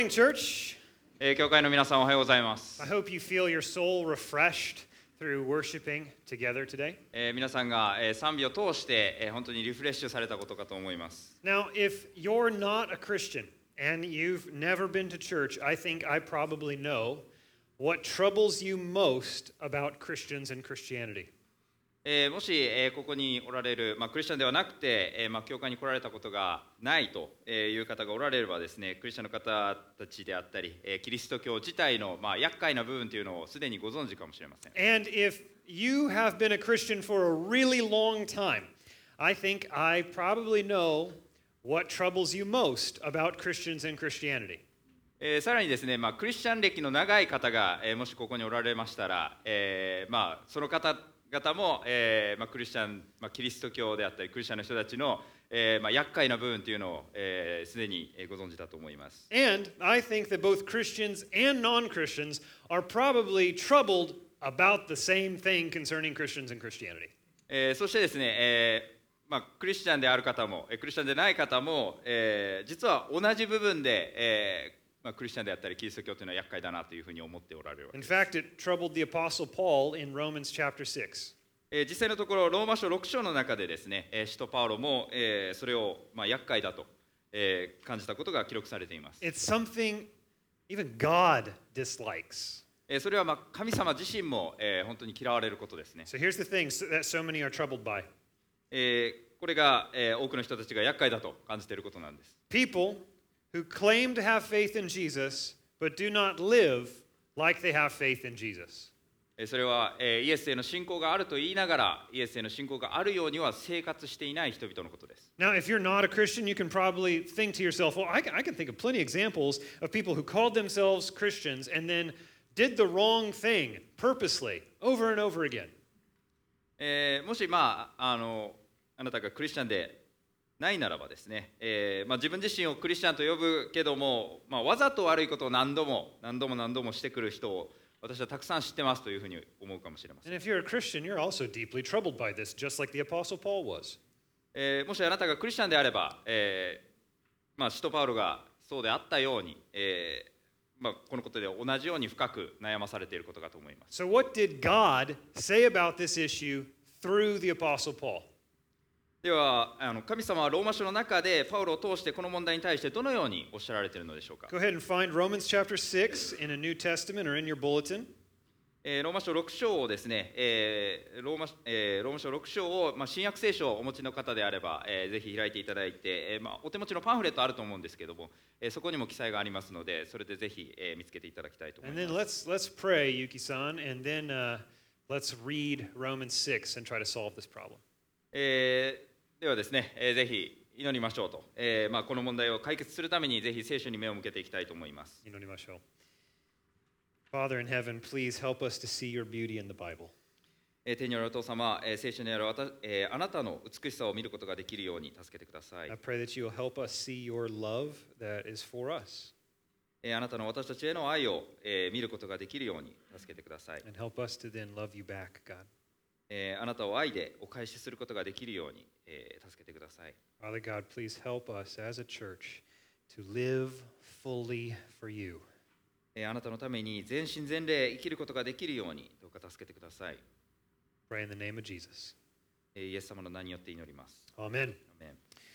Church, 教会の皆さんおはようございます。 I hope you feel your soul refreshed through worshiping together today. 皆さんが賛美を通して本当にリフレッシュされたことかと思います。 Now, if you're not a Christian and you've never been to church, I think I probably know what troubles you most about Christians and Christianity. もしここにおられる、クリスチャンではなくて、教会に来られたことがないという方がおられればですね、クリスチャンの方たちであったり、キリスト教自体の厄介な部分というのをすでにご存知かもしれません。 And if you have been a Christian for a really long time, I think I probably know what troubles you most about Christians and Christianity. さらにですね、クリスチャン歴の長い方が、もしここにおられましたら、その方々も、クリスチャン、キリスト教であったりクリスチャンの人たちの、厄介な部分というのをすでにご存知だと思います。 And I think that both Christians and non-Christians are probably troubled about the same thing concerning Christians and Christianity. そしてですね、クリスチャンである方もクリスチャンでない方も、実は同じ部分で、クリスチャンであったりキリスト教というのは厄介だなというふうに思っておられるわけです。 In fact, it troubled the Apostle Paul in Romans chapter 6. 実際のところローマ書6章の中でですね、使徒パウロも、それを、厄介だと、感じたことが記録されています。 It's something even God dislikes. それは神様自身も、本当に嫌われることですね。 So here's the thing that so many are troubled by. これが、多くの人たちが厄介だと感じていることなんです。 People who claim to have faith in Jesus but do not live like they have faith in Jesus. それは、イエスへの信仰があると言いながらイエスへの信仰があるようには生活していない人々のことです。 Now, if you're not a Christian, you can probably think to yourself, well, I can think of plenty of examples of people who called themselves Christians and then did the wrong thing purposely over and over again. もし、あなたがクリスチャンでないならばですね、自分自身をクリスチャンと呼ぶけども、わざと悪いことを何度もしてくる人を私はたくさん知ってますというふうに思うかもしれません。 And if you're a Christian, you're also deeply troubled by this, just like the Apostle Paul was. もしあなたがクリスチャンであれば、使徒パウロがそうであったように、このことで同じように深く悩まされていることかと思います。 So what did God say about this issue through the Apostle Paul? では神様はローマ書の中でパウロを通してこの問題に対してどのようにおっしゃられているのでしょうか。 Go ahead and find Romans chapter 6 in a New Testament or in your bulletin. ローマ書6章をですね、ローマ書6章を、新約聖書をお持ちの方であれば、ぜひ開いていただいて、お手持ちのパンフレットあると思うんですけども、そこにも記載がありますので、それでぜひ、見つけていただきたいと思います。 And then let's pray, Yuki-san, and then let's read Romans 6 and try to solve this problem. ではですね、ぜひ祈りましょうと、この問題を解決するためにぜひ聖書に目を向けていきたいと思います。 祈りましょう。Father in heaven, please help us to see your beauty in the Bible. 天にあるお父様、聖書にあるあなたの美しさを見ることができるように助けてください。 I pray that you will help us see your love that is for us. あなたの私たちへの愛を、見ることができるように助けてください。 And help us to then love you back, God. あなたを愛でお返しすることができるように、助けてください。 Father God, please help us as a church to live fully for you. あなたのために全身全霊生きることができるようにどうか助けてください。 Pray in the name of Jesus. イエス様の名によって祈ります。 Amen. Amen.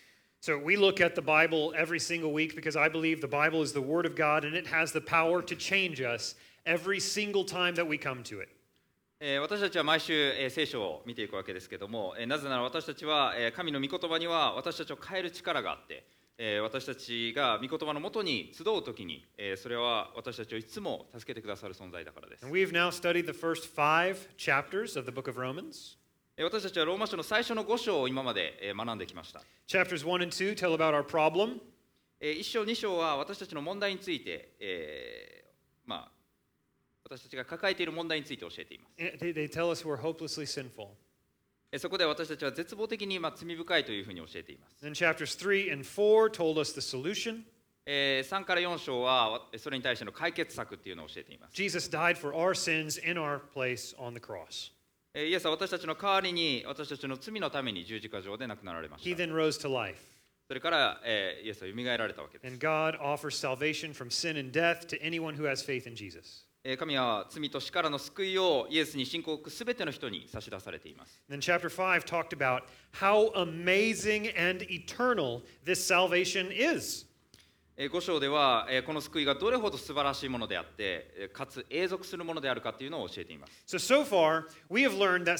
So we look at the Bible every single week because I believe the Bible is the Word of God and it has the power to change us every single time that we come to it. 私たちは毎週、聖書を見ていくわけですけども、なぜなら私たちは、神の御言葉には私たちを変える力があって、私たちが御言葉のもとに集うときに、それは私たちをいつも助けてくださる存在だからです。 And we've now studied the first 5 chapters of the book of Romans. 私たちはローマ書の最初の5章を今まで学んできました。 Chapters 1 and 2 tell about our problem. 1章2章は私たちの問題について、私たちが抱えている問題について教えています。 They tell us we're hopelessly sinful. そこで私たちは絶望的に罪深いというふうに教えています。 Then chapters 3 and 4 told us the solution. 3から4章はそれに対しての解決策っていうのを教えています。 Jesus died for our sins in our place on the cross. イエスは私たちの代わりに私たちの罪のために十字架上で亡くなられまし He た。 then rose to life. それから、イエスは蘇られたわけです。 And God offers salvation from sin and death to anyone who has faith in Jesus. 神は罪と死からの救いをイエスに信仰を置くすべての人に差し出されています。 Then chapter 5 talked about how amazing and eternal this salvation is. 5章ではこの救いがどれほど素晴らしいものであってかつ永続するものであるかというのを教えています。 So far, we have learned that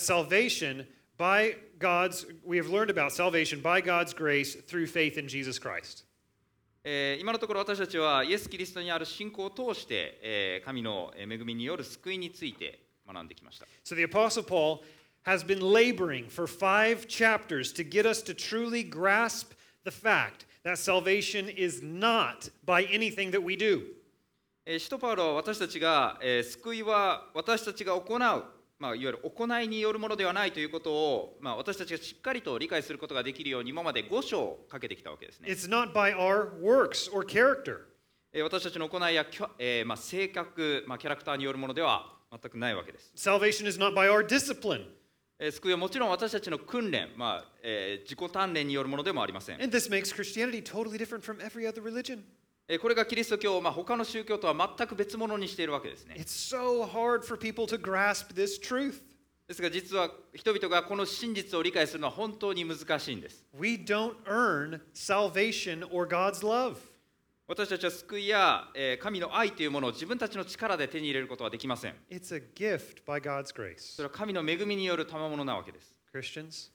we have learned about salvation by God's grace through faith in Jesus Christ. 今のところ私たちはイエス・キリストにある信仰を通して神の恵みによる救いについて学んできました。 So the Apostle Paul has been laboring for 5 chapters to get us to truly grasp the fact that salvation is not by anything that we do. 使徒パウロは私たちが救いは私たちが行う、いわゆる行いによるものではないということを、私たちがしっかりと理解することができるように今まで5章かけてきたわけですね。 It's not by our works or character. 私たちの行いや、性格、キャラクターによるものでは全くないわけです。 Salvation is not by our discipline. 救いはもちろん私たちの訓練、自己鍛錬によるものでもありません。 And this makes Christianity totally different from every other religion. これがキリスト教を、他の宗教とは全く別物にしているわけですね。 It's so hard for people to grasp this truth. ですが実は人々がこの真実を理解するのは本当に難しいんです。 We don't earn salvation or God's love. 私たちは救いや、神の愛というものを自分たちの力で手に入れることはできません。 It's a gift by God's grace. それは神の恵みによる賜物なわけです。 Christians,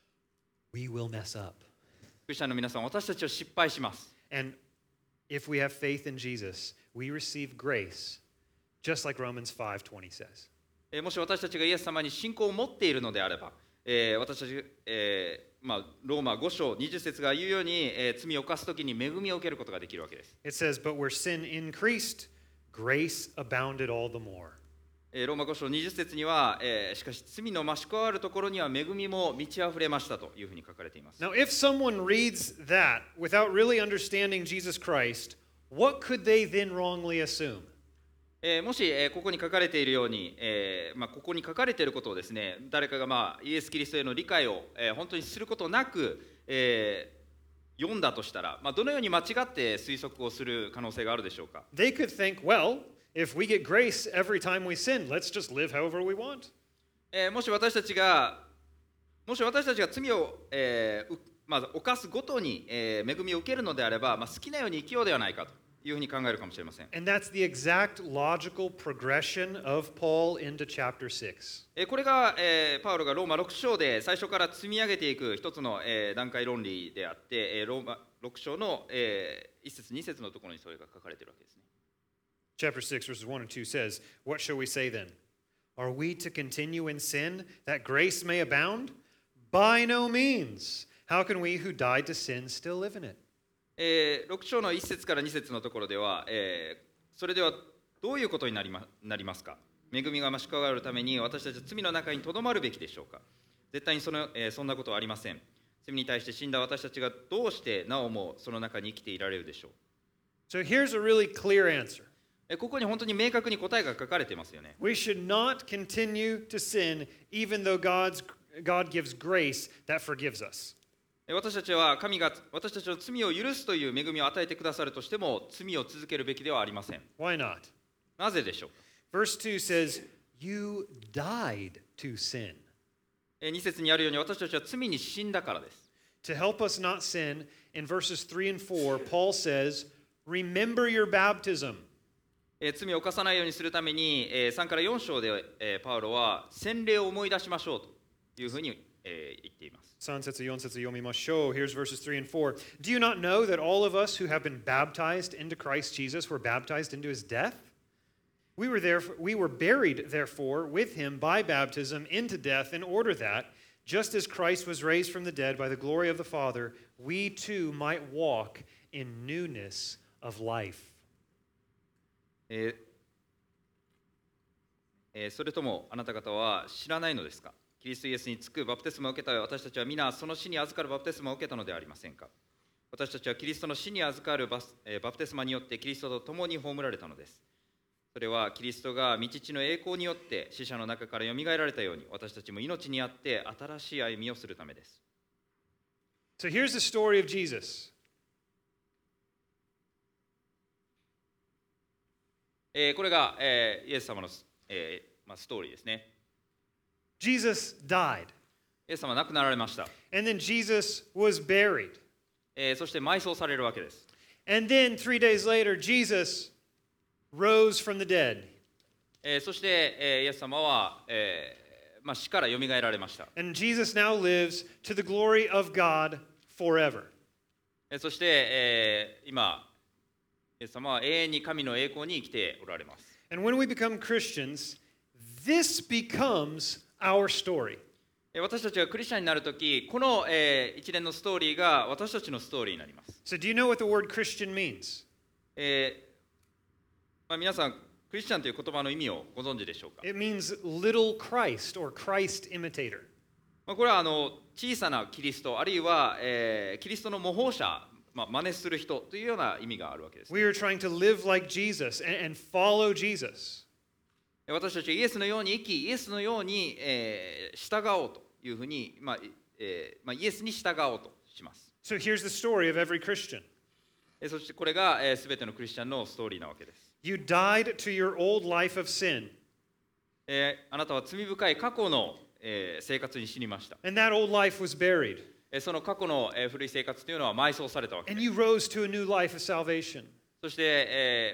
we will mess up. クリスチャンの皆さん、私たちは失敗します。 And if we have faith in Jesus, we receive grace, just like Romans 5:20 says. もし私たちがイエス様に信仰を持っているのであれば、私たち、ローマ5章20節が言うように、罪を犯すときに恵みを受けることができるわけです。 It says, but where sin increased, grace abounded all the more. ローマ5章20節には、しかし罪の増し加わるところには恵みも満ち溢れましたというふうに書かれています。 Now, if someone reads that without really understanding Jesus Christ, what could they then wrongly assume? もし、ここに書かれているように、ここに書かれていることをですね、誰かが、イエス・キリストへの理解を、本当にすることなく、読んだとしたら、どのように間違って推測をする可能性があるでしょうか。 They could think, well, if we get grace every time we sin, let's just live however we want. もし私たちが罪を、犯すごとに、恵みを受けるのであれば、好きなように生きようではないかというふうに考えるかもしれません。 And that's the exact logical progression of Paul into chapter 6. これが、パウロがローマ6章で最初から積み上げていく一つの、段階論理であって、ローマ6章の、1節2節のところにそれが書かれているわけですね。 Chapter 6, verses 1 and 2 says, what shall we say then? Are we to continue in sin that grace may abound? By no means. How can we who died to sin still live in it? 6章の1節から2節のところでは、それではどういうことになりますか。恵みが増し加わるために私たちは罪の中にとどまるべきでしょうか。絶対にそんなことはありません。罪に対して死んだ私たちがどうしてなおもその中に生きていられるでしょう。 So here's a really clear answer. ここに本当に明確に答えが書かれていますよね。 We should not continue to sin even though God gives grace that forgives us. 私たちは神が私たちの罪を許すという恵みを与えてくださるとしても罪を続けるべきではありません。 Why not? なぜでしょうか。 Verse 2 says, You died to sin. 2節にあるように私たちは罪に死んだからです。 To help us not sin, in verses 3 and 4, Paul says, Remember your baptism. 罪を犯さないようにするために3から4章でパウロは洗礼を思い出しましょうというふうに言っています。 3節4節読みましょう。Here's verses 3 and 4. Do you not know that all of us who have been baptized into Christ Jesus were baptized into his death? We were buried, therefore, with him by baptism into death, in order that, just as Christ was raised from the dead by the glory of the Father, we too might walk in newness of life. それともあなた方は知らないのですか。キリストイエスにつくバプテスマを受けた私たちは皆その死に預かるバプテスマを受けたのではありませんか。私たちはキリストの死に預かるバプテスマによってキリストと共に葬られたのです。それはキリストが御父の栄光によって死者の中からよみがえられたように私たちも命にあって新しい歩みをするためです。 So here's the story of Jesus. これが、イエス様の、ストーリーですね。 Jesus died, イエス様は亡くなられました。 and then Jesus was buried. そして埋葬されるわけです。 And then 3 days later, Jesus rose from the dead. そして、イエス様は、死からよみがえられました。 And Jesus now lives to the glory of God forever. そして、今、イエス様は永遠に神の栄光に生きておられます。 And when we become Christians, this becomes our story. 私たちがクリスチャンになるとき、この、一連のストーリーが私たちのストーリーになります。 So do you know what the word Christian means? 皆さん、クリスチャンという言葉の意味をご存知でしょうか。 It means little Christ or Christ imitator. これは小さなキリスト、あるいは、キリストの模倣者、真似する人というような意味があるわけです。 We are trying to live like Jesus and follow Jesus. 私たちはイエスのように生き、イエスのように、従おうというふうに、イエスに従おうとします。 So here's the story of every Christian. そしてこれがすべてのクリスチャンのストーリーなわけです。 You died to your old life of sin. あなたは罪深い過去の、生活に死にました。 And that old life was buried. その過去の、古い生活というのは埋葬されたわけで And す。 you rose to a new life of salvation. そして、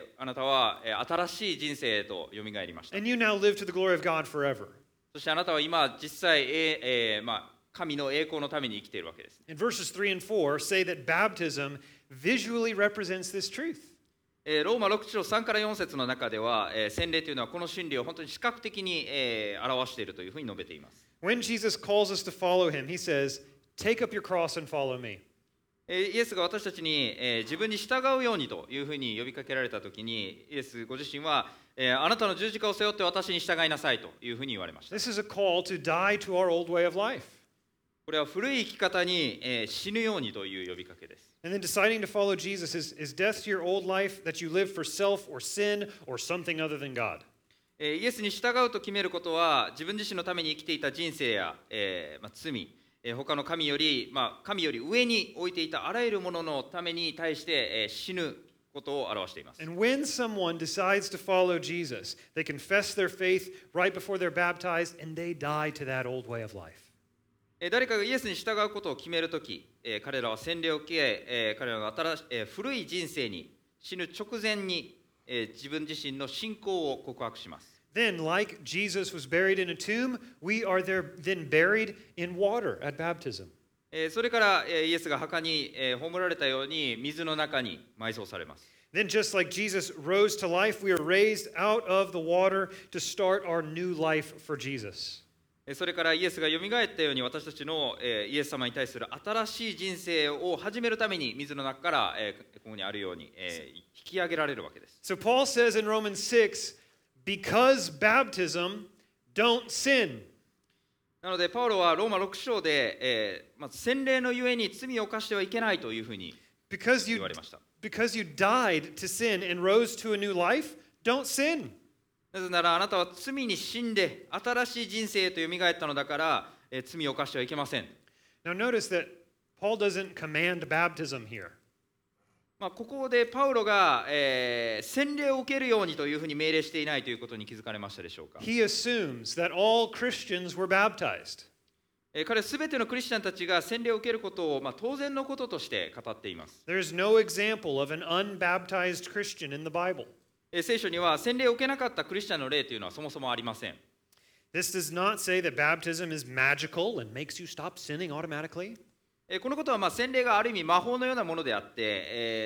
あなたは、新しい人生へとよみがえりました。 And you now live to the glory of God forever. そしてあなたは今実際、神の栄光のために生きているわけです。 And verses 3 and 4 say that baptism visually represents this truth. ローマ6章3から4節の中では、洗礼というのはこの真理を本当に視覚的に、表しているというふうに述べています。 When Jesus calls us to follow him, he says, "Take up your cross and follow me." イエスが私たちに、自分に従うようにというふうに呼びかけられたときに、イエスご自身は、あなたの十字架を背負って私に従いなさいというふうに言われました。 This is a call to die to our old way of life. これは古い生き方に、死ぬようにという呼びかけです。 And then deciding to follow Jesus is death to your old life that you live for self or sin or something other than God. イエスに従うと決めることは自分自身のために生きていた人生や、罪、他の神より、神より上に置いていたあらゆるもののために対して、死ぬことを表しています。 And when someone decides to follow Jesus, they confess their faith right before they're baptized and they die to that old way of life. 誰かがイエスに従うことを決めるとき、彼らは洗礼を受け、彼らが古い人生に死ぬ直前に、自分自身の信仰を告白します。 Then, like Jesus was buried in a tomb, we are then buried in water at baptism. それから、イエスが墓に、葬られたように水の中に埋葬されます。 Then, just like Jesus rose to life, we are raised out of the water to start our new life for Jesus. それからイエスがよみがえったように私たちのイエス様に対する新しい人生を始めるために水の中からここにあるように引き上げられるわけです。 So Paul says in Romans 6, because baptism, don't sin. なのでパウロはローマ6章で、洗礼のゆえに罪を犯してはいけないというふうに言われました。 Because you died to sin and rose to a new life, don't sin. なぜならあなたは罪に死んで新しい人生へとよみがえったのだから、罪を犯してはいけません。 Now notice that Paul doesn't command baptism here. ここでパウロが、洗礼を受けるようにというふうに命令していないということに気づかれましたでしょうか。 He assumes that all Christians were baptized. 彼はすべてのクリスチャンたちが洗礼を受けることを、当然のこととして語っています。 There's no example of an unbaptized Christian in the Bible. 聖書には洗礼を受けなかったクリスチャンの例というのはそもそもありません。 This does not say that baptism is magical and makes you stop sinning automatically. このことは洗礼がある意味魔法のようなものであって、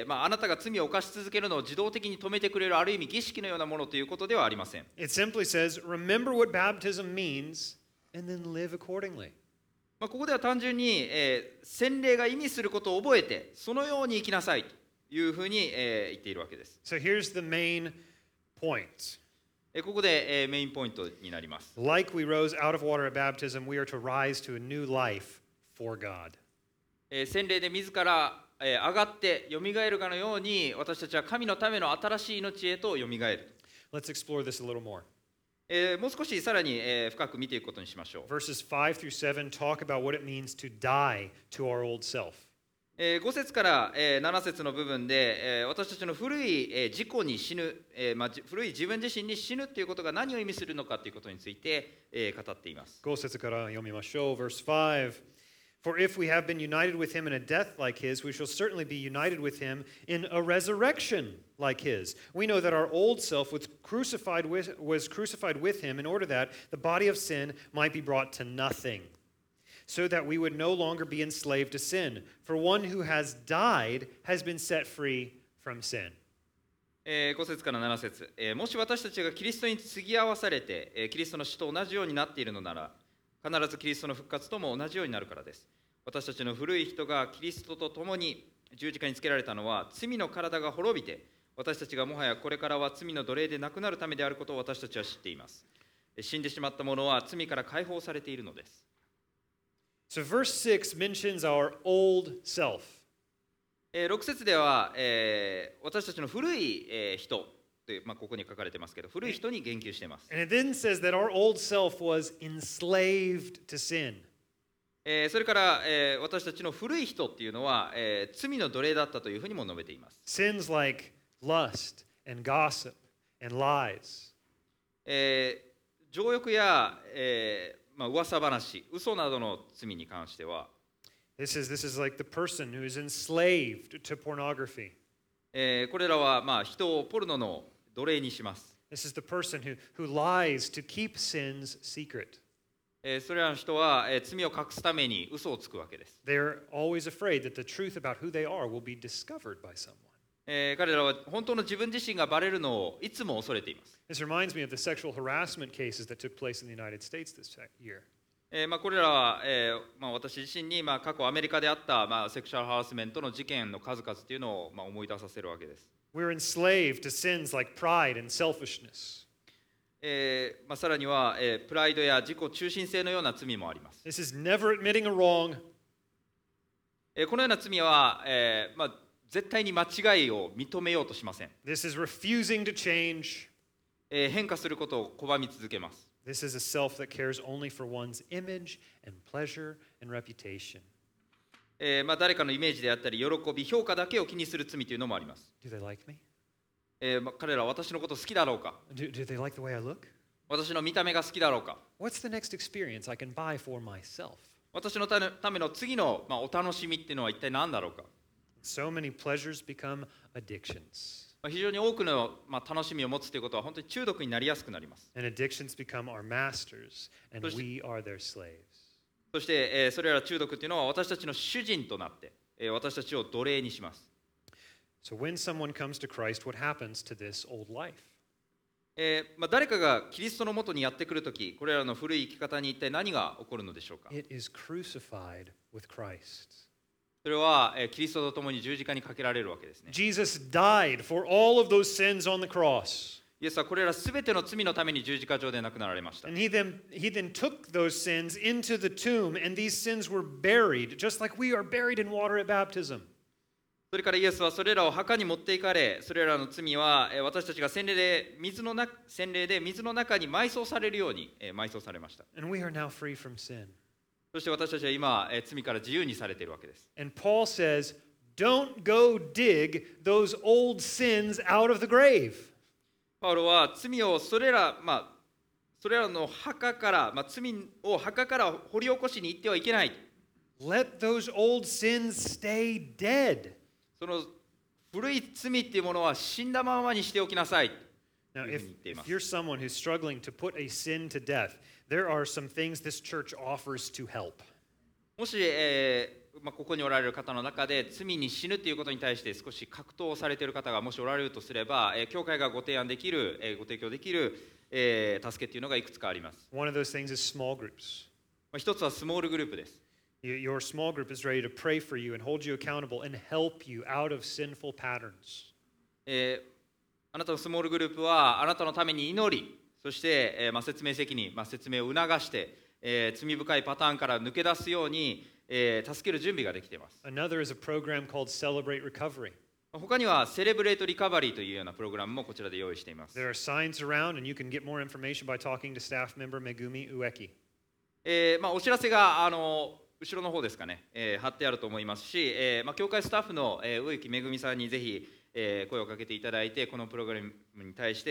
あなたが罪を犯し続けるのを自動的に止めてくれるある意味儀式のようなものということではありません。 It simply says, remember what baptism means and then live accordingly. ここでは単純に、洗礼が意味することを覚えてそのように生きなさいというふうに、言っているわけです。 So here's the main point. ここで、メインポイントになります。 Like we rose out of water at baptism, we are to rise to a new life for God. 洗礼で自ら、上がってよみがえるかのように私たちは神のための新しい命へとよみがえる。 Let's explore this a little more. もう少しさらに、深く見ていくことにしましょう。 Verses 5 through 7 talk about what it means to die to our old self. 5節から、7節の部分で、私たちの古い、自己に死ぬ、古い自分自身に死ぬということが何を意味するのかということについて、語っています。 5節から読みましょう。Verse 5. For if we have been united with him in a death like his, we shall certainly be united with him in a resurrection like his. We know that our old self was crucified with him in order that the body of sin might be brought to nothing, so that we would no longer be enslaved to sin. For one who has died has been set free from sin. 5節から7節、もし私たちがキリストに継ぎ合わされて、キリストの死と同じようになっているのなら、必ずキリストの復活とも同じようになるからです。私たちの古い人がキリストと共に十字架につけられたのは、罪の体が滅びて、私たちがもはやこれからは罪の奴隷でなくなるためであることを私たちは知っています。死んでしまった者は罪から解放されているのです。 So verse 6 mentions our old self. 6節では、私たちの古い、人という、ここに書かれてますけど、古い人に言及しています。 And it then says that our old self was enslaved to sin. それから、私たちの古い人っていうのは、罪の奴隷だったというふうにも述べています。 Sins like lust and gossip and lies. 情欲や、噂話、嘘などの罪に関しては、 This is like the person who is enslaved to pornography. これらは、人をポルノの奴隷にします。 This is the person who lies to keep sins secret. それらの人は、罪を隠すために嘘をつくわけです。 They're always afraid that the truth about who they are will be discovered by someone. 彼らは本当の自分自身がバレるのをいつも恐れています。 This reminds me of the sexual harassment cases that took place in the United States this year. これらは、私自身に、過去アメリカであった、セクシャルハラスメントの事件の数々というのを、思い出させるわけです。 We're enslaved to sins like pride and selfishness. さらには、プライドや自己中心性のような罪もあります。 This is never admitting a wrong. このような罪は、絶対に間違いを認めようとしません。 This is refusing to change. 変化することを拒み続けます。 This is a self that cares only for one's image and pleasure and reputation. 誰かのイメージであったり、喜び、評価だけを気にする罪というのもあります。 Do they like me? 彼らは私のこと好きだろうか？ Do they like the way I look? 私の見た目が好きだろうか？ What's the next experience I can buy for myself? 私のための次の、お楽しみっていうのは一体何だろうか？ So many pleasures become addictions. 非常に多くの、楽しみを持つということは本当に中毒になりやすくなります。 And addictions become our masters, and we are their slaves. そして、それら中毒っていうのは私たちの主人となって、私たちを奴隷にします。 So when someone comes to Christ, what happens to this old life? 誰かがキリストのもとにやってくるとき、これらの古い生き方に一体何が起こるのでしょうか？ It is crucified with Christ. それは、キリストと共に十字架にかけられるわけですね。 Jesus died for all of those sins on the cross. イエスはこれらすべての罪のために十字架上で亡くなられました。 And he then took those sins into the tomb, and these sins were buried, just like we are buried in water at baptism. それからイエスはそれらを墓に持っていかれ、それらの罪は私たちが洗礼で水の中に埋葬されるように埋葬されました。 And we are now free from sin. そして私たちは今、罪から自由にされているわけです。 And Paul says, don't go dig those old sins out of the grave. パウロは罪をそれらの墓から、罪を墓から掘り起こしに行ってはいけない。 Let those old sins stay dead. その古い罪っていうものは死んだままにしておきなさい。 Now, if you're someone who's struggling to put a sin to death, there are some things this church offers to help. もし、ここにおられる方の中で罪に死ぬということに対して少し格闘をされている方がもしおられるとすれば、教会がご提供できる、助けというのがいくつかあります。 One of those things is small groups. 一つはスモールグループです。 Your small group is ready to pray for you and hold you accountable and help you out of sinful patterns. あなたのスモールグループはあなたのために祈り、そして、説明責任、説明を促して、罪深いパターンから抜け出すように、助ける準備ができています。 Another is a program called Celebrate Recovery. 他にはセレブレートリカバリーというようなプログラムもこちらで用意しています。 There are signs around, and you can get more information by talking to staff member Megumi Ueki. お知らせが後ろの方ですかね、貼ってあると思いますし、教会スタッフの、植木めぐみさんにぜひ、声をかけていただいて、このプログラムに対して、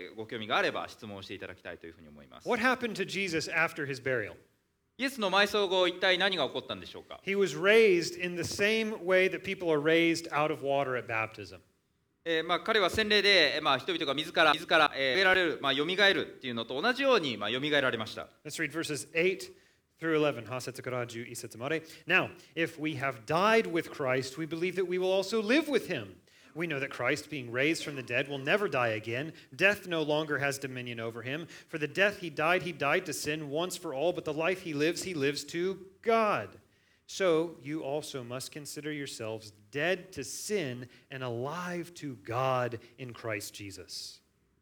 ご興味があれば質問をしていただきたいというふうに思います。 What happened to Jesus after his burial? イエスの埋葬後、一体何が起こったんでしょうか。 He was raised in the same way that people are raised out of water at baptism. 彼は洗礼で、人々が自ら植えられる、蘇るっていうのと同じように、蘇られました。 Let's read verses 8 through 11. 8節から11節まで. Now, if we have died with Christ, we believe that we will also live with him. We know that Christ, being raised from the dead, will never die again. Death no longer has dominion over him. For the death he died to sin once for all, but the life he lives to God. So you also must consider yourselves dead to sin and alive to God in Christ Jesus.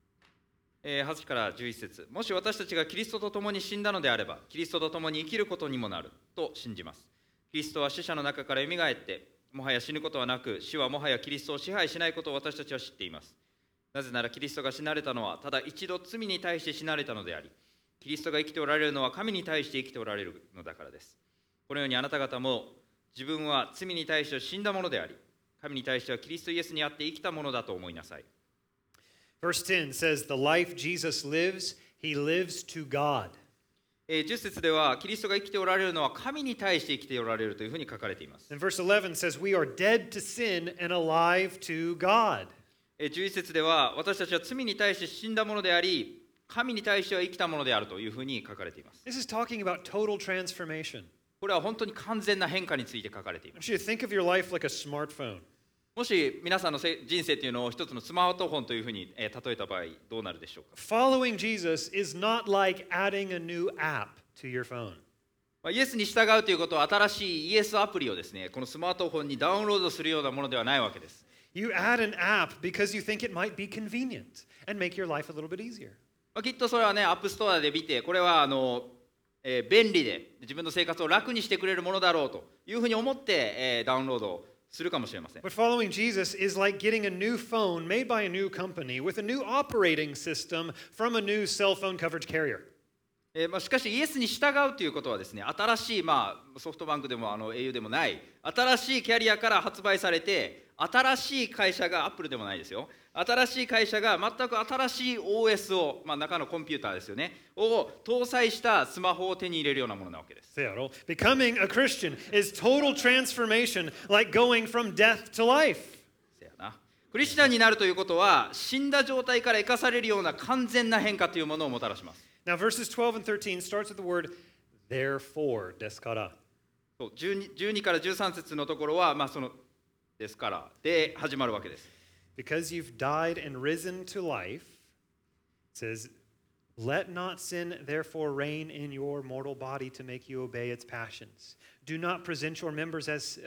8から11節。もし私たちがキリストと共に死んだのであれば、キリストと共に生きることにもなると信じます。キリストは死者の中からよみがえって、もはや死ぬことはなく、死はもはやキリストを支配しないことを私たちは知っています。なぜならキリストが死なれたのは、ただ一度罪に対して死なれたのであり、キリストが生きておられるのは神に対して生きておられるのだからです。このようにあなた方も、自分は罪に対して死んだものであり、神に対してはキリストイエスにあって生きたものだと思いなさい。 Verse 10 says, The life Jesus lives, he lives to God. 10節では、キリストが生きておられるのは神に対して生きておられるというふうに書かれています。 And verse 11 says, We are dead to sin and alive to God. 11節では、私たちは罪に対して死んだものであり、神に対しては生きたものであるというふうに書かれています。 This is talking about total transformation. これは本当に完全な変化について書かれていま I す。 want you to think of your life like a smartphone. もし皆さんの人生というのを一つのスマートフォンというふうに例えた場合、どうなるでしょうか。 Following Jesus is not like adding a new app to your phone. イエスに従うということは、新しいイエスアプリをですね、このスマートフォンにダウンロードするようなものではないわけです。 You add an app because you think it might be convenient and make your life a little bit easier. きっとそれはね、アップストアで見て、これは便利で自分の生活を楽にしてくれるものだろうというふうに思って、ダウンロードするかもしれません。 But following Jesus is like getting a new phone made by a new company with a new operating system from a new cell phone coverage carrier. しかしイエスに従うということはですね、新しい、ソフトバンクでもauでもない新しいキャリアから発売されて、新しい会社がアップルでもないですよ、新しい会社が全く新しい OS を、中のコンピューターですよね、を搭載したスマホを手に入れるようなものなわけです。 Becoming a Christian is total transformation, like going from death to life. せやな。クリスチャンになるということは、死んだ状態から生かされるような完全な変化というものをもたらします。 Now, verses 12 and 13 starts with the word therefore, ですから。 そう 12から13節のところは、そのですからで始まるわけです。 Because you've died and risen to life, it says, Let not sin therefore reign in your mortal body to make you obey its passions. Do not present your members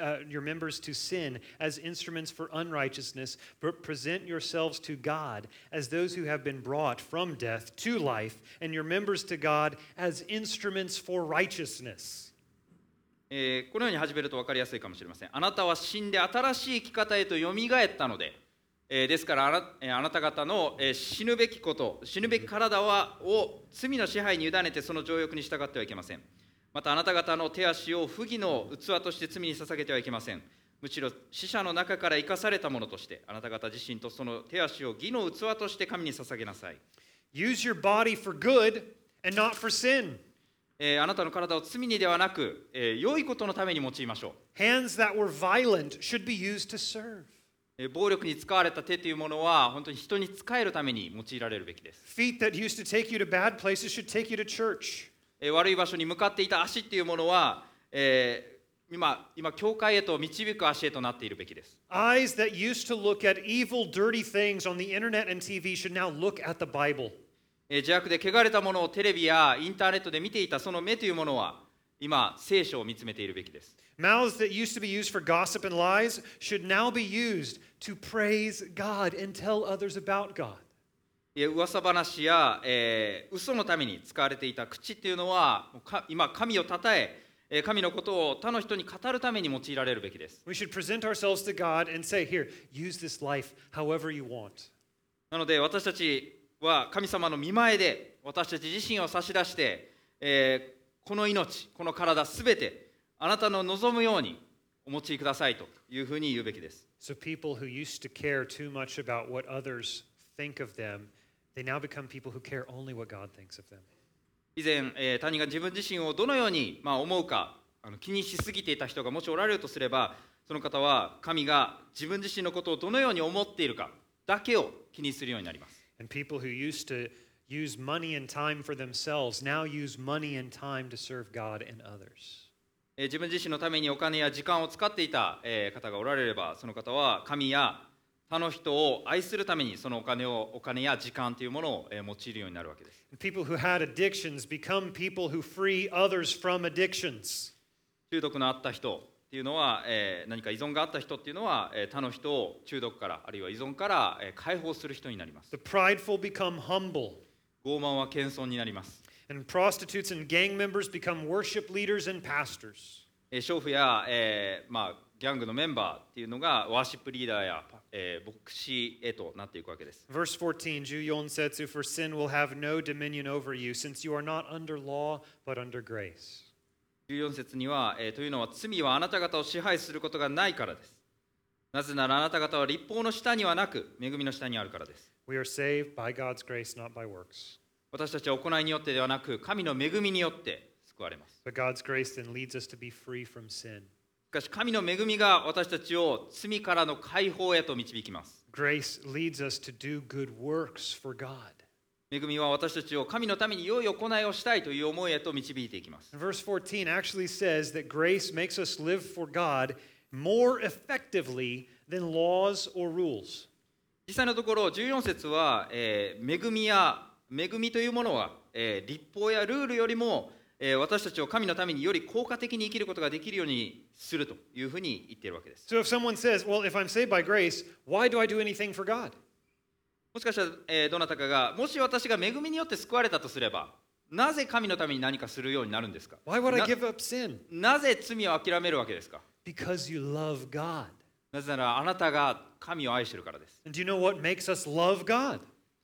to sin as instruments for unrighteousness, but present yourselves to God as those who have been brought from death to life, and your members to God as instruments for righteousness. このように始めると分かりやすいかもしれません。あなたは死んで新しい生き方へとよみがえったので、ですからあなた方の死ぬべきこと、死ぬべき体を罪の支配に委ねてその情欲に従ってはいけません。またあなた方の手足を不義の器として罪に捧げてはいけません。むしろ死者の中から生かされたものとして、あなた方自身とその手足を義の器として神に捧げなさい。 Use your body for good and not for sin. あなたの体を罪にではなく、良いことのために用いましょう。 Hands that were violent should be used to serve. 暴力に使われた手というものは本当に人に仕えるために用いられるべきです。 Feet that used to take you to bad places should take you to church. 悪い場所に向かっていた足っていうものは、今教会へと導く足へとなっているべきです。 Eyes that used to look at evil, dirty things on the internet and TV should now look at the Bible. 邪悪で汚れたものをテレビやインターネットで見ていたその目というものは今聖書を見つめているべきです。 Mouths that used to be used for gossip and lies should now be used to praise God and tell others about God. 噂話や、嘘のために使われていた口っていうのは今神をたたえ神のことを他の人に語るために用いられるべきです。 We should present ourselves to God and say, Here, use this life however you want. なので私たちは神様の御前で私たち自身を差し出して、この命、この体すべてあなたの望むようにお持ちくださいというふうに言うべきです。 So people who used to care too much about what others think of them, they now become people who care only what God thinks of them. 以前、他人が自分自身をどのように、思うか気にしすぎていた人がもしおられるとすれば、その方は神が自分自身のことをどのように思っているかだけを気にするようになります。 And people who used to use money and time for themselves now use money and time to serve God and others. 自分自身のためにお金や時間を使っていた方がおられれば、その方は神や他の人を愛するためにそのお金や時間というものを用いるようになるわけです。 People who had addictions become people who free others from addictions. 中毒のあった人っていうのは、何か依存があった人っていうのは、他の人を中毒からあるいは依存から、解放する人になります。 The prideful become humble. 傲慢は謙遜になります。 And prostitutes and gang members become worship leaders and pastors. 娼婦や、ギャングのメンバーっていうのがワーシップリーダーや、牧師へとなっていくわけです。 Verse 14, 14節, For sin will have no dominion over you, since you are not under law, but under grace. 14節には、というのは罪はあなた方を支配することがないからです。なぜならあなた方は律法の下にはなく、恵みの下にあるからです。 We are saved by God's grace, not by works. 私たちは行いによってではなく、神の恵みによって救われます。 But God's grace then leads us to be free from sin. しかし神の恵みが私たちを罪からの解放へと導きます。 Grace leads us to do good works for God. 恵みは私たちを神のために良い行いをしたいという思いへと導いていきます。 Verse 14 actually says that grace makes us live for God more effectively than laws or rules. 実際のところ14節は、恵みというものは、律法やルールよりも、私たちを神のためにより効果的に生きることができるようにするというふうに言っているわけです。 So if someone says, well, if I'm saved by grace, why do I do anything for God? もしかしたら、どなたかがもし私が恵みによって救われたとすれば、なぜ神のために何かするようになるんですか？ Why would I give up sin? なぜ罪を諦めるわけですか？ Because you love God. なぜならあなたが神を愛しているからです。 And do you know what makes us love God?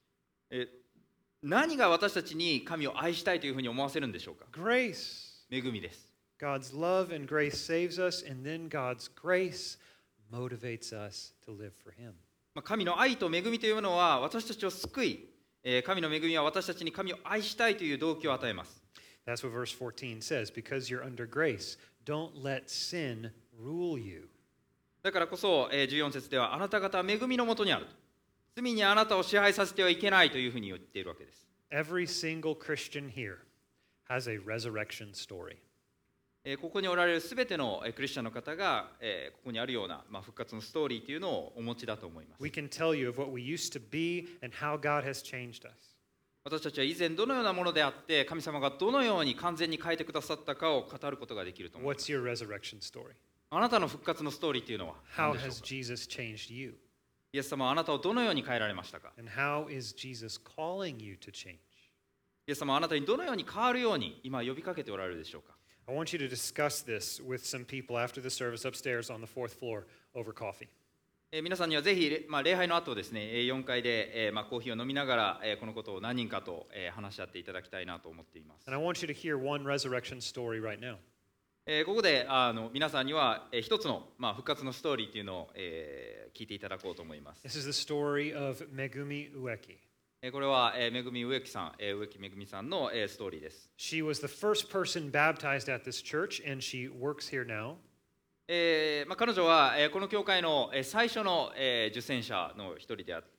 何が私たちに神を愛したいというふうに思わせるんでしょうか？ Grace. 恵みです。 God's love and grace saves us, and then God's grace motivates us to live for Him. 神の愛と恵みというものは私たちを救い、神の恵みは私たちに神を愛したいという動機を与えます。 That's what verse 14 says. Because you're under grace, don't let sin rule you. だからこそ、14節ではあなた方は恵みのもとにある。罪にあなたを支配させてはいけないというふうに言っているわけです。 Every single Christian here has a resurrection story. ここにおられるすべてのクリスチャンの方が、ここにあるような、復活のストーリーというのをお持ちだと思います。 We can tell you of what we used to be and how God has changed us. 私たちは以前どのようなものであって神様がどのように完全に変えてくださったかを語ることができると思います。 What's your resurrection story? あなたの復活のストーリーというのは How 何でしょう has か？ Jesus changed you? イエス様はあなたをどのように変えられましたか？ And how is Jesus calling you to change? イエス様はあなたにどのように変わるように今呼びかけておられるでしょうか？ I want you to discuss this with some people after the service upstairs on the fourth floor over coffee. 皆さんにはぜひ、礼拝の後ですね、4階で、コーヒーを飲みながら、このことを何人かと、話し合っていただきたいなと思っています。 And I want you to hear one resurrection story right now. ここで皆さんには、一つの、復活のストーリーというのを、聞いていただこうと思います。 This is the story of Megumi Ueki. これは、めぐみ植木さん、植木めぐみさんの、ストーリーです。 She was the first person baptized at this church, and she works here now. 彼女は、この教会の、最初の、受選者の一人であって、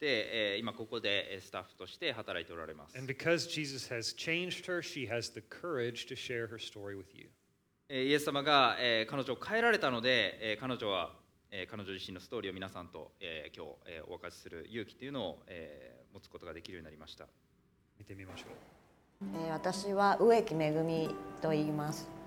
今ここでスタッフとして働いておられます。 And because Jesus has changed her, she has the courage to share her story with you. イエス様が、彼女を変えられたので、彼女は、彼女自身のストーリーを皆さんと、今日、お明かしする勇気というのを、持つことができるようになりました。 見てみましょう。 私は植木めぐみと言います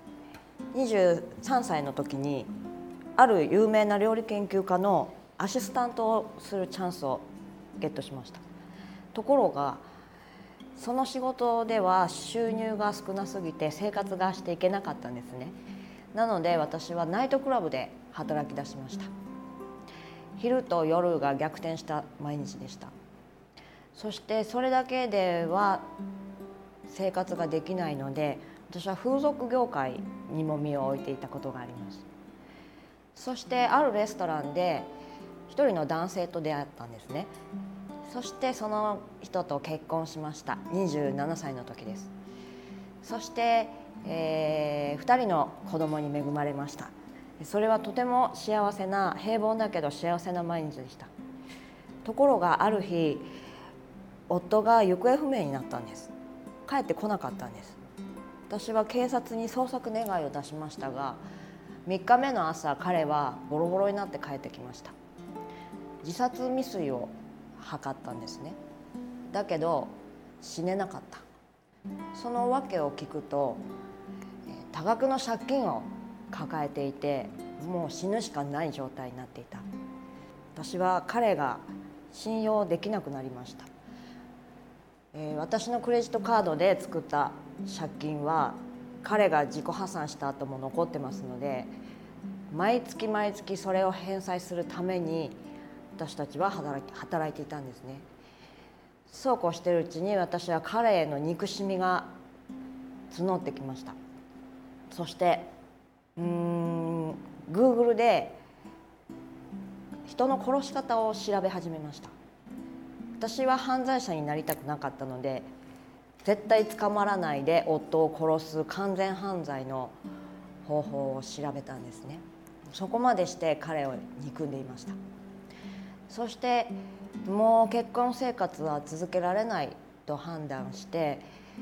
。23歳の時にある有名な料理研究家のアシスタントをするチャンスをゲットしました。ところがその仕事では収入が少なすぎて生活がしていけなかったんですね。なので私はナイトクラブで働き出しました。昼と夜が逆転した毎日でした。そしてそれだけでは生活ができないので、 私は風俗業界にも身を置いていたことがあります。そしてあるレストランで一人の男性と出会ったんですね。そしてその人と結婚しました。27歳の時です。そして、2人の子供に恵まれました。それはとても幸せな、平凡だけど幸せな毎日でした。ところがある日、夫が行方不明になったんです。帰ってこなかったんです。私は警察に捜索願いを出しましたが、3日目の朝、彼はボロボロになって帰ってきました。自殺未遂を図ったんですね。だけど死ねなかった。その訳を聞くと、多額の借金を抱えていて、もう死ぬしかない状態になっていた。私は彼が信用できなくなりました。私のクレジットカードで作った借金は彼が自己破産した後も残ってますので、毎月毎月それを返済するために私たちは働いていたんですね。そうこうしているうちに、私は彼への憎しみが募ってきました。そしてGoogle で人の殺し方を調べ始めました。私は犯罪者になりたくなかったので、絶対捕まらないで夫を殺す完全犯罪の方法を調べたんですね。そこまでして彼を憎んでいました。そしてもう結婚生活は続けられないと判断して、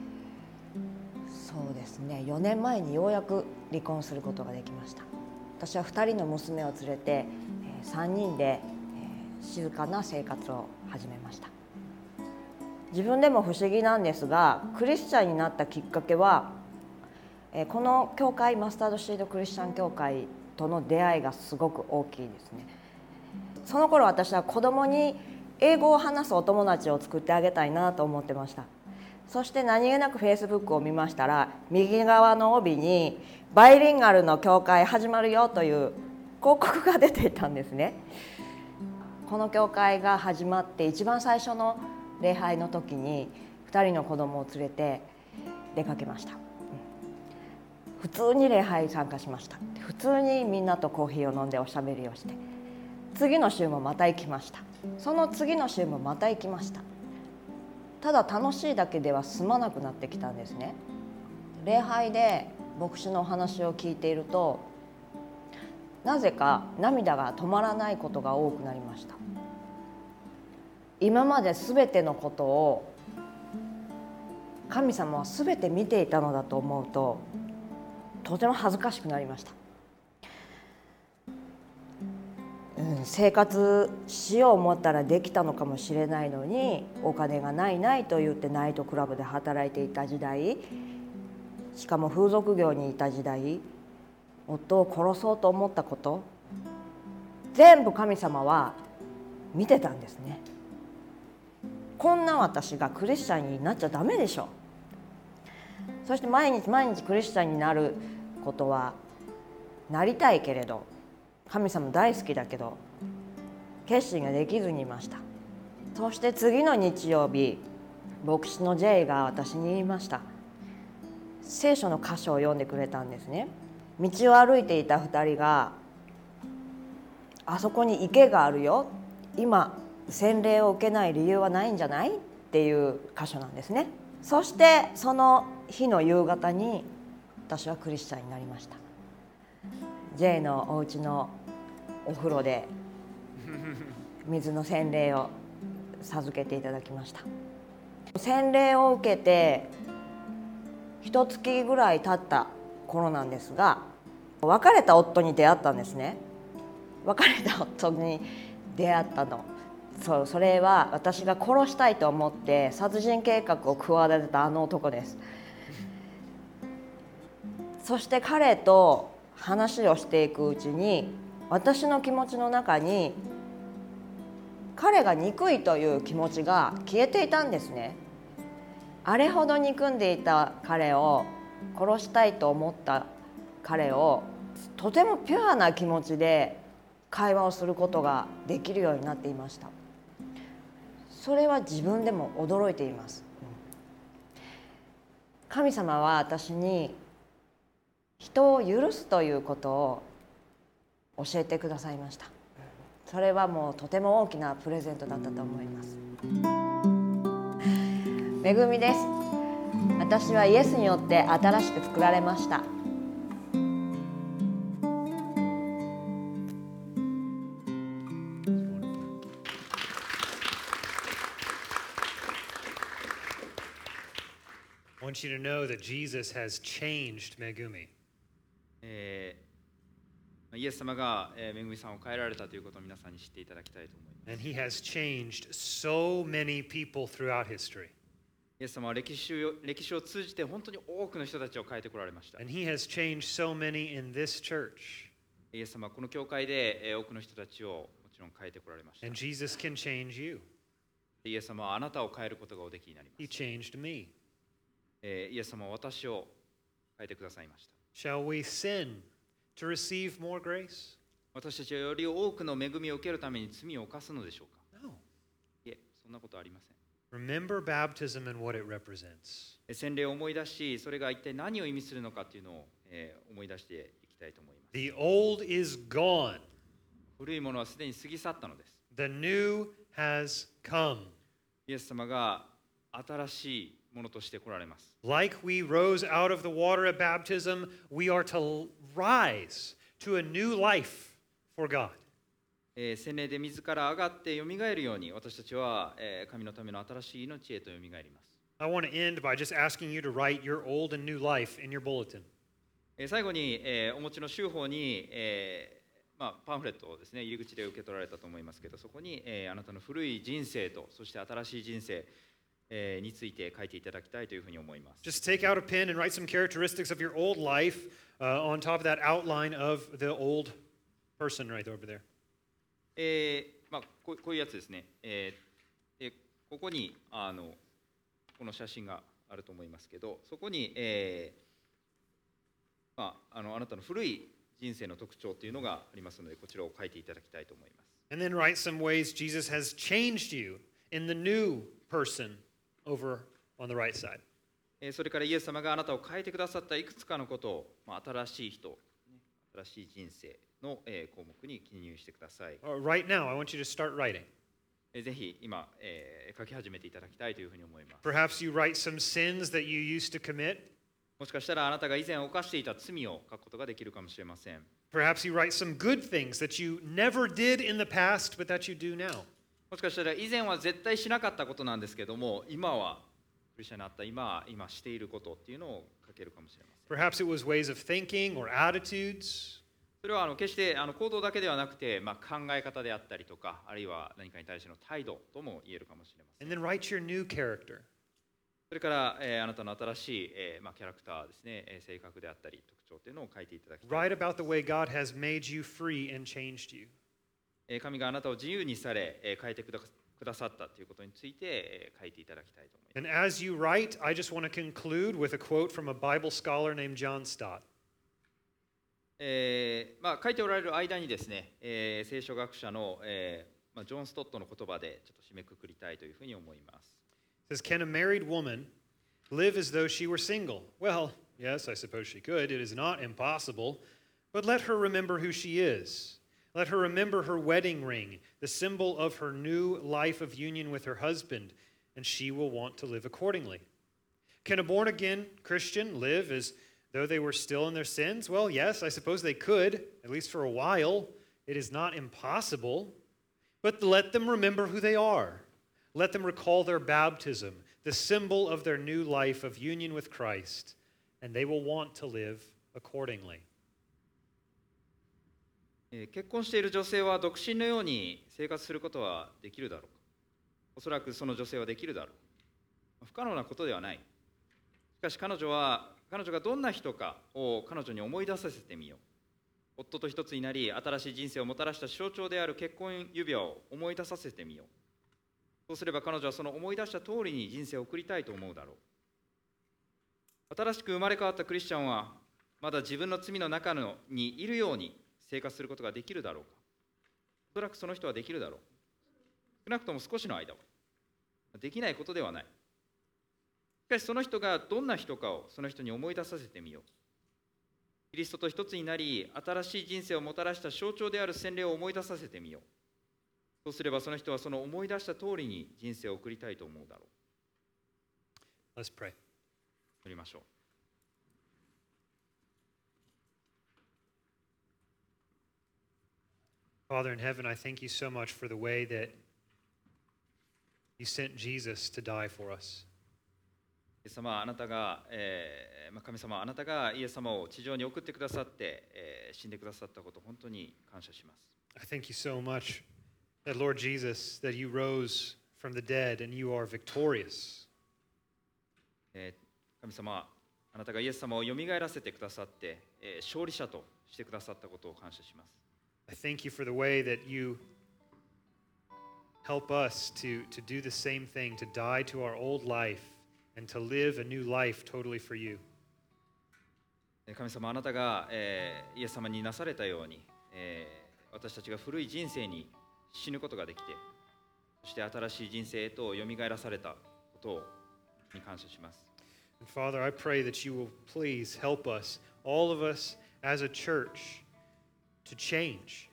そうですね、4年前にようやく離婚することができました。私は2人の娘を連れて3人で静かな生活を始めました。自分でも不思議なんですが、クリスチャンになったきっかけは、この教会、マスタードシードクリスチャン教会との出会いがすごく大きいですね。その頃私は子供に英語を話すお友達を作ってあげたいなと思ってました。そして何気なくフェイスブックを見ましたら、右側の帯にバイリンガルの教会始まるよという広告が出ていたんですね。この教会が始まって一番最初の礼拝の時に2人の子供を連れて出かけました。普通に礼拝に参加しました。普通にみんなとコーヒーを飲んでおしゃべりをして、次の週もまた行きました。その次の週もまた行きました。ただ楽しいだけでは済まなくなってきたんですね。礼拝で牧師のお話を聞いていると、なぜか涙が止まらないことが多くなりました。今まで全てのことを神様は全て見ていたのだと思うと、とても恥ずかしくなりました。生活しよう思ったらできたのかもしれないのに、お金がないと言ってナイトクラブで働いていた時代、しかも風俗業にいた時代、夫を殺そうと思ったこと、全部神様は見てたんですね。こんな私がクリスチャンになっちゃダメでしょ。そして毎日毎日クリスチャンになることはなりたいけれど、神様大好きだけど決心ができずにいました。そして次の日曜日、牧師の J が私に言いました。聖書の箇所を読んでくれたんですね。道を歩いていた2人が、あそこに池があるよ、今洗礼を受けない理由はないんじゃないっていう箇所なんですね。そしてその日の夕方に私はクリスチャンになりました。 J のお家のお風呂で水の洗礼を授けていただきました。洗礼を受けて1月ぐらい経った頃なんですが、別れた夫に出会ったんですね。別れた夫に出会ったの、それは私が殺したいと思って殺人計画を企てたあの男です。そして彼と話をしていくうちに、私の気持ちの中に彼が憎いという気持ちが消えていたんですね。あれほど憎んでいた彼を、殺したいと思った彼を、とてもピュアな気持ちで会話をすることができるようになっていました。それは自分でも驚いています。神様は私に人を許すということを教えてくださいました。それはもうとても大きなプレゼントだったと思います。恵みです。私はイエスによって新しく作られました。 I want you to know that Jesus has changed Megumi. イエス様がめぐみさんを変えられたということを皆さんに知っていただきたいと思います。 And he has changed so many people throughout history. イエス様は歴史を通じて本当に多くの人たちを変えてこられました。 And he has changed so many in this church. イエス様はこの教会で多くの人たちをもちろん変えてこられました。 And Jesus can change you. イエス様はあなたを変えることがおできになりま He す。 changed me. イエス様は私を変えてくださいました。 Shall we sin to receive more grace? 私たちはより多くの恵みを受けるために罪を犯すのでしょうか。 No. いえ、そんなことはありません。 Remember baptism and what it represents. 洗礼を思い出し、それが一体何を意味するのかというのを思い出していきたいと思います。 The old is gone. 古いものはすでに過ぎ去ったのです。 The new has come. イエス様が新しいものとして来られます。 Like we rose out of the water at baptism, we are to rise to a new life for God. 洗礼で自ら上がってよみがえるように私たちは神のための新しい命へとよみがえります。 I want to end by just asking you to write your old and new life in your bulletin. 最後にお持ちの州法にパンフレットをですね入り口で受け取られたと思いますけど、そこにあなたの古い人生とそして新しい人生について書いていただきたいというふうに思います。 Just take out a pen and write some characteristics of your old life on top of that outline of the old person right over there. こういうやつですね。ここにこの写真があると思いますけど、そこに、あなたの古い人生の特徴というのがありますので、こちらを書いていただきたいと思います。 And then write some ways Jesus has changed you in the new person over on the right side. それからイエス様があなたを変えてくださったいくつかのことを、新しい人、新しい人生の項目に記入してください。 Right now, I want you to start writing. ぜひ今、書き始めていただきたいというふうに思います。 Perhaps you write some sins that you used to commit. もしかしたらあなたが以前犯していた罪を書くことができるかもしれません。 Perhaps you write some good things that you never did in the past, but that you do now. もしかしたら以前は絶対しなかったことなんですけども、今はクリスチャンになった今していることっていうのを書けるかもしれません。 Perhaps it was ways of thinking or attitudes. それは決して行動だけではなくて、考え方であったりとか、あるいは何かに対しての態度とも言えるかもしれません。 And then write your new character. それから、あなたの新しい、キャラクターですね、性格であったり特徴というのを書いていただきたい。 Write about the way God has made you free and changed you. 神があなたを自由にされ、変えてくださったということについて、書いていただきたいと思います。 And as you write, I just want to conclude with a quote from a Bible scholar named John Stott. 書いておられる間にですね、聖書学者の、ジョン・ストットの言葉でちょっと締めくくりたいというふうに思います。 It says, can a married woman live as though she were single? Well, yes, I suppose she could. It is not impossible. But let her remember who she is. Let her remember her wedding ring, the symbol of her new life of union with her husband, and she will want to live accordingly. Can a born-again Christian live as though they were still in their sins? Well, yes, I suppose they could, at least for a while. It is not impossible. But let them remember who they are. Let them recall their baptism, the symbol of their new life of union with Christ, and they will want to live accordingly. 結婚している女性は独身のように生活することはできるだろうか。おそらくその女性はできるだろう。不可能なことではない。しかし彼女がどんな人かを彼女に思い出させてみよう。夫と一つになり、新しい人生をもたらした象徴である結婚指輪を思い出させてみよう。そうすれば彼女はその思い出した通りに人生を送りたいと思うだろう。新しく生まれ変わったクリスチャンはまだ自分の罪の中にいるように生活することができるだろうか。おそらくその人はできるだろう。少なくとも少しの間は。できないことではない。しかしその人がどんな人かをその人に思い出させてみよう。 キリストと一つになり、新しい人生をもたらした象徴である洗礼を思い出させてみよう。そうすればその人はその思い出した通りに人生を送りたいと思うだろう。 Let's pray. 祈りましょう。 Father in heaven, I thank you so much for the way that you sent Jesus to die for us. イエス様、あなたが、神様、あなたがイエス様を地上に送ってくださって、死んでくださったこと、本当に感謝します。 I thank you so much that, Lord Jesus, that you rose from the dead and you are victorious. 神様、あなたがイエス様をよみがえらせてくださって、勝利者としてくださったことを感謝します。 I thank you for the way that you help us to do the same thing, to die to our old life and to live a new life totally for you. 神様、あなたが、イエス様になされたように、私たちが古い人生に死ぬことができて、そして新しい人生へとよみがえらされたことに感謝します。 And Father, I pray that you will please help us, all of us as a church, to change.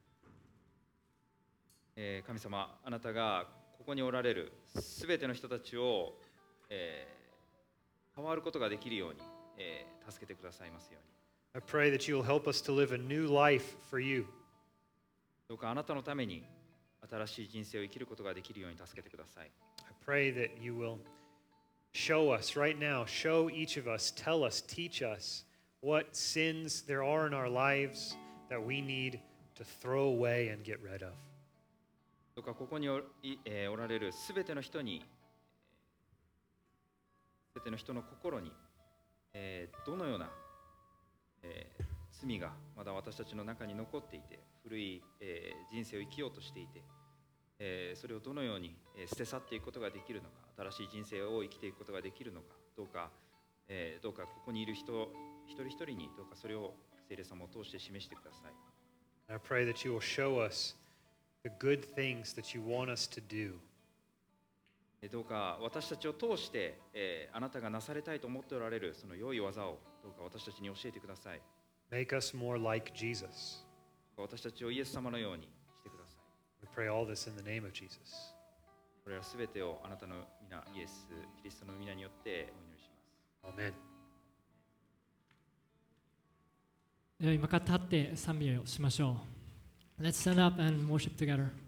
神様、あなたがここにおられるすべての人たちを、変わることができるように、助けてくださいますように。 I pray that you will help us to live a new life for you. どうかあなたのために新しい人生を生きることができるように助けてください。 I pray that you will show us right now, show each of us, tell us, teach us what sins there are in our lives that we need to throw away and get rid of. どうかここにおられるすべての人に、すべての人の心に、どのような、罪がまだ私たちの中に残っていて、古い、人生を生きようとしていて、それをどのように、捨て去っていくことができるのか、新しい人生を生きていくことができるのか、どうかここにいる人一人一人にどうかそれを聖霊様を通して示してください。 I pray that you will show us the good things that you want us to do. どうか私たちを通して、あなたがなされたいと思っておられるその良い技をどうか私たちに教えてください。 Make us more like Jesus. 私たちをイエス様のようにしてください。 We pray all this in the name of Jesus. これらすべてをあなたの皆、イエス・キリストの皆によってお祈りします。 Amen. では今から立って賛美をしましょう。Let's stand up and worship together.